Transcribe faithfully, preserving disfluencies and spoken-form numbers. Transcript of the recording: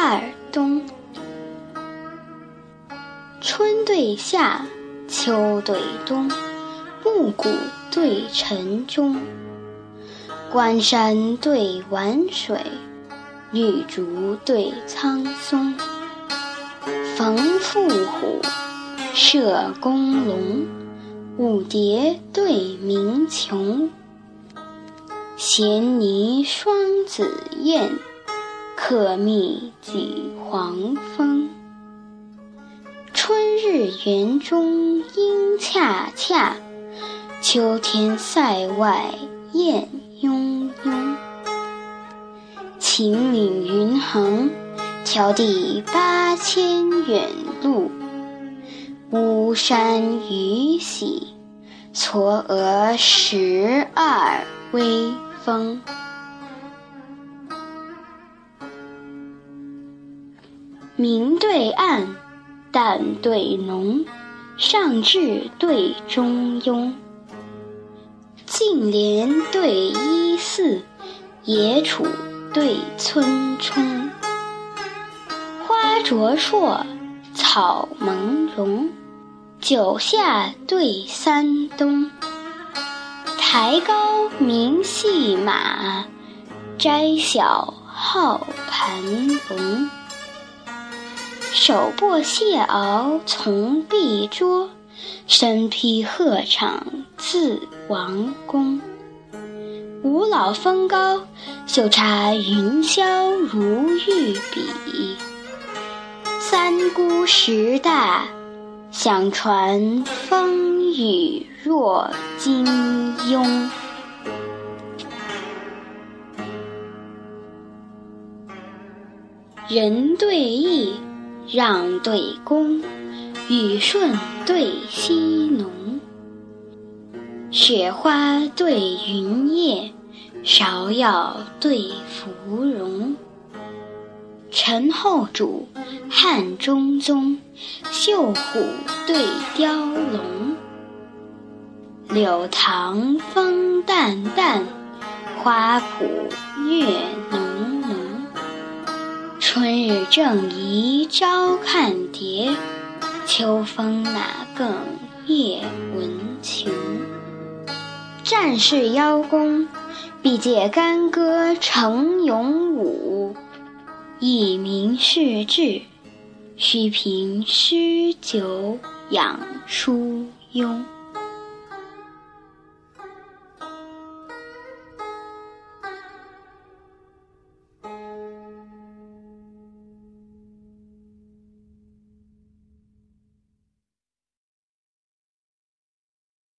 二冬。春对夏，秋对冬，暮鼓对晨钟。关山对晚水，绿竹对苍松。逢伏虎，射公龙，舞蝶对鸣琼。衔泥双子燕，客蜜几黄蜂。春日园中莺恰恰，秋天塞外雁雍雍。秦岭云横，迢递八千远路。巫山雨洗，嵯峨十二微风。明对暗，淡对浓，上至对中庸。净莲对依寺，野楚对村冲。花灼烁，草蒙茸，九夏对三冬。台高明细马，斋小号盘龙。手握蟹螯从碧桌，身披鹤氅自王宫。五老峰高，秀插云霄如玉笔。三姑十大，相传风雨若金庸。人对义，让对恭，雨顺对溪浓。雪花对云叶，芍药对芙蓉。陈后主，汉中宗，绣虎对雕龙。柳塘风淡淡，花圃月浓浓。春日正宜朝看蝶，秋风哪更夜闻琼。战士邀功，必借干戈成勇武。一民事志，须凭诗酒养疏庸。